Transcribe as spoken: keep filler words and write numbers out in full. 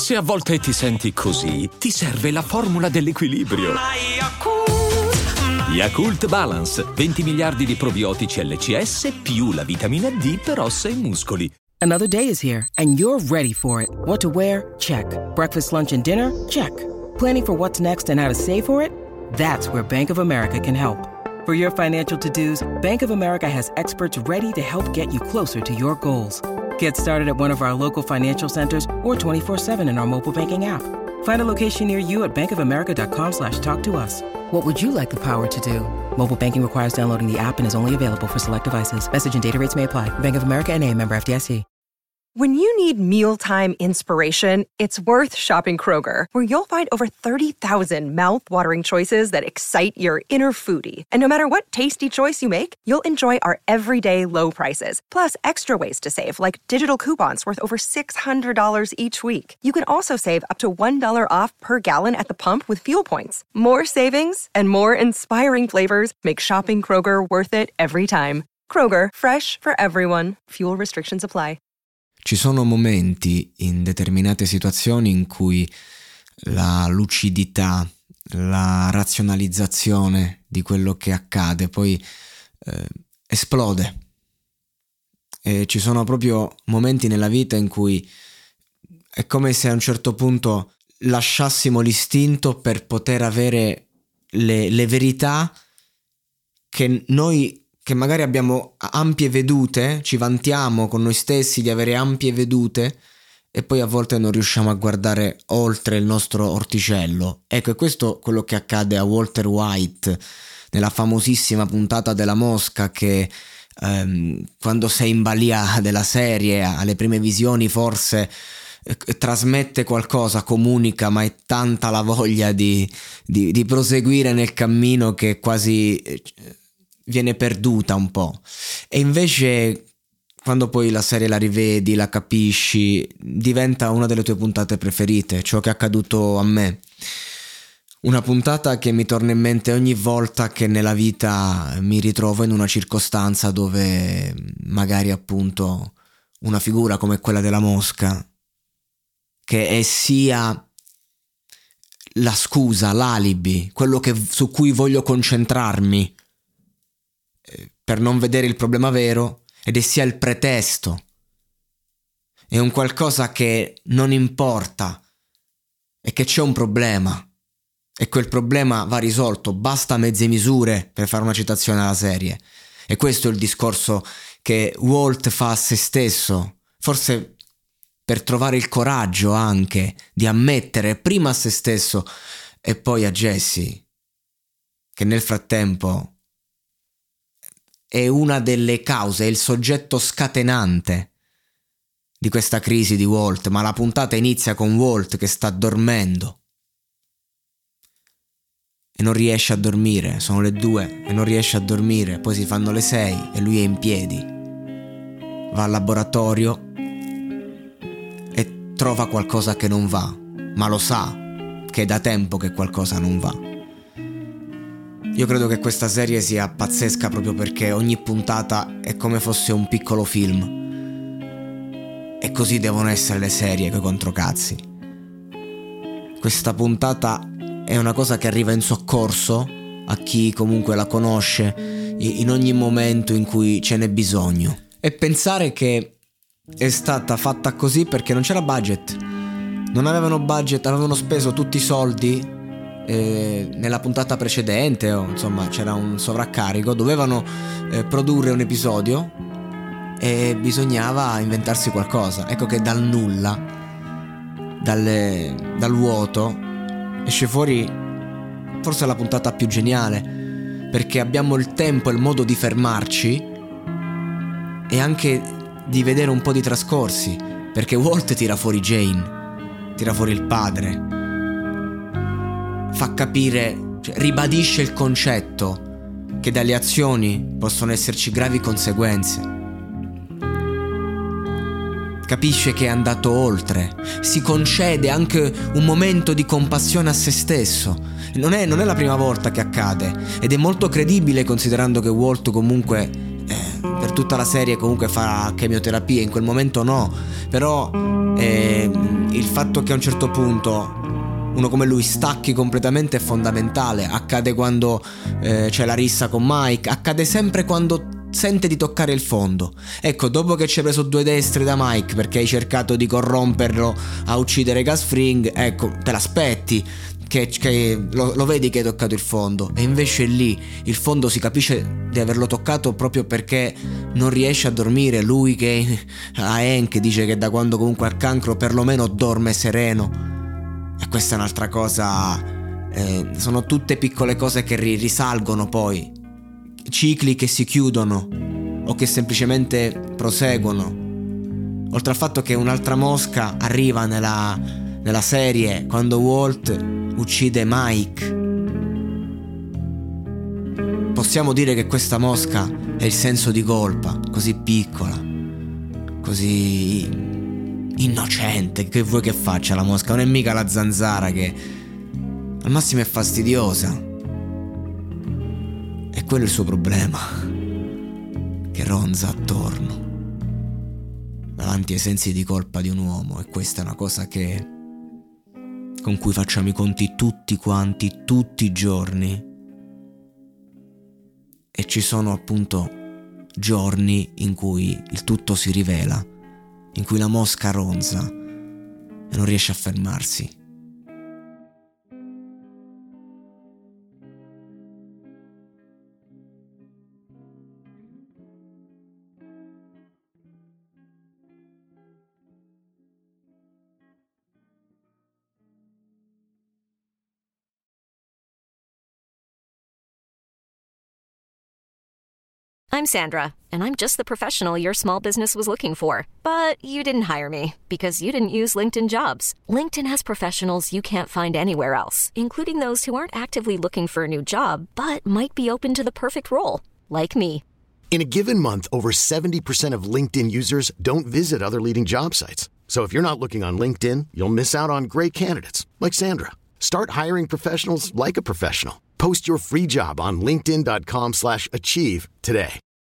Se a volte ti senti così, ti serve la formula dell'equilibrio. Yakult Balance, venti miliardi di probiotici L C S più la vitamina D per ossa e muscoli. Another day is here, and you're ready for it. What to wear? Check. Breakfast, lunch, and dinner? Check. Planning for what's next and how to save for it? That's where Bank of America can help. For your financial to-dos, Bank of America has experts ready to help get you closer to your goals. Get started at one of our local financial centers or twenty-four seven in our mobile banking app. Find a location near you at bankofamerica.com slash talk to us. What would you like the power to do? Mobile banking requires downloading the app and is only available for select devices. Message and data rates may apply. Bank of America N A, member F D I C. When you need mealtime inspiration, it's worth shopping Kroger, where you'll find over thirty thousand mouth-watering choices that excite your inner foodie. And no matter what tasty choice you make, you'll enjoy our everyday low prices, plus extra ways to save, like digital coupons worth over six hundred dollars each week. You can also save up to one dollar off per gallon at the pump with fuel points. More savings and more inspiring flavors make shopping Kroger worth it every time. Kroger, fresh for everyone. Fuel restrictions apply. Ci sono momenti in determinate situazioni in cui la lucidità, la razionalizzazione di quello che accade poi eh, esplode. E ci sono proprio momenti nella vita in cui è come se a un certo punto lasciassimo l'istinto per poter avere le, le verità che noi, che magari abbiamo ampie vedute, ci vantiamo con noi stessi di avere ampie vedute e poi a volte non riusciamo a guardare oltre il nostro orticello. Ecco, è questo quello che accade a Walter White nella famosissima puntata della Mosca, che ehm, quando sei in balia della serie, alle prime visioni forse eh, trasmette qualcosa, comunica, ma è tanta la voglia di, di, di proseguire nel cammino che quasi Eh, viene perduta un po'. E invece quando poi la serie la rivedi, la capisci, diventa una delle tue puntate preferite, ciò che è accaduto a me. Una puntata che mi torna in mente ogni volta che nella vita mi ritrovo in una circostanza dove magari appunto una figura come quella della Mosca, che è sia la scusa, l'alibi, quello che, su cui voglio concentrarmi per non vedere il problema vero, ed è sia il pretesto, è un qualcosa che non importa, è che c'è un problema e quel problema va risolto, basta mezze misure, per fare una citazione alla serie. E questo è il discorso che Walt fa a se stesso, forse per trovare il coraggio anche di ammettere prima a se stesso e poi a Jesse che nel frattempo è una delle cause, è il soggetto scatenante di questa crisi di Walt, ma la puntata inizia con Walt che sta dormendo e non riesce a dormire, sono le due e non riesce a dormire, poi si fanno le sei e lui è in piedi, va al laboratorio e trova qualcosa che non va, ma lo sa che è da tempo che qualcosa non va. Io credo che questa serie sia pazzesca proprio perché ogni puntata è come fosse un piccolo film. E così devono essere le serie coi controcazzi. Questa puntata è una cosa che arriva in soccorso a chi comunque la conosce in ogni momento in cui ce n'è bisogno. E pensare che è stata fatta così perché non c'era budget. Non avevano budget, avevano speso tutti i soldi Eh, nella puntata precedente, o insomma c'era un sovraccarico, dovevano eh, produrre un episodio e bisognava inventarsi qualcosa. Ecco che dal nulla, dalle, dal vuoto esce fuori forse la puntata più geniale, perché abbiamo il tempo e il modo di fermarci e anche di vedere un po' di trascorsi, perché Walt tira fuori Jane, tira fuori il padre, fa capire, cioè, ribadisce il concetto che dalle azioni possono esserci gravi conseguenze. Capisce che è andato oltre, si concede anche un momento di compassione a se stesso. Non è, non è la prima volta che accade ed è molto credibile considerando che Walt comunque eh, per tutta la serie comunque fa chemioterapia, in quel momento no, però eh, il fatto che a un certo punto uno come lui stacchi completamente è fondamentale. Accade quando eh, c'è la rissa con Mike, accade sempre quando sente di toccare il fondo. Ecco, dopo che ci hai preso due destri da Mike perché hai cercato di corromperlo a uccidere Gus Fring, ecco, te l'aspetti che, che lo, lo vedi che hai toccato il fondo, e invece lì il fondo si capisce di averlo toccato proprio perché non riesce a dormire. Lui che a Hank dice che da quando comunque ha il cancro perlomeno dorme sereno, e questa è un'altra cosa. Eh, sono tutte piccole cose che ri- risalgono poi, cicli che si chiudono o che semplicemente proseguono. Oltre al fatto che un'altra mosca arriva nella, nella serie quando Walt uccide Mike. Possiamo dire che questa mosca è il senso di colpa, così piccola, così innocente. Che vuoi che faccia la mosca? Non è mica la zanzara che al massimo è fastidiosa. E quello è il suo problema, che ronza attorno davanti ai sensi di colpa di un uomo. E questa è una cosa che con cui facciamo i conti tutti quanti, tutti i giorni. E ci sono appunto giorni in cui il tutto si rivela, in cui la mosca ronza e non riesce a fermarsi. I'm Sandra, and I'm just the professional your small business was looking for. But you didn't hire me because you didn't use LinkedIn Jobs. LinkedIn has professionals you can't find anywhere else, including those who aren't actively looking for a new job, but might be open to the perfect role, like me. In a given month, over seventy percent of LinkedIn users don't visit other leading job sites. So if you're not looking on LinkedIn, you'll miss out on great candidates, like Sandra. Start hiring professionals like a professional. Post your free job on linkedin dot com slash achieve today.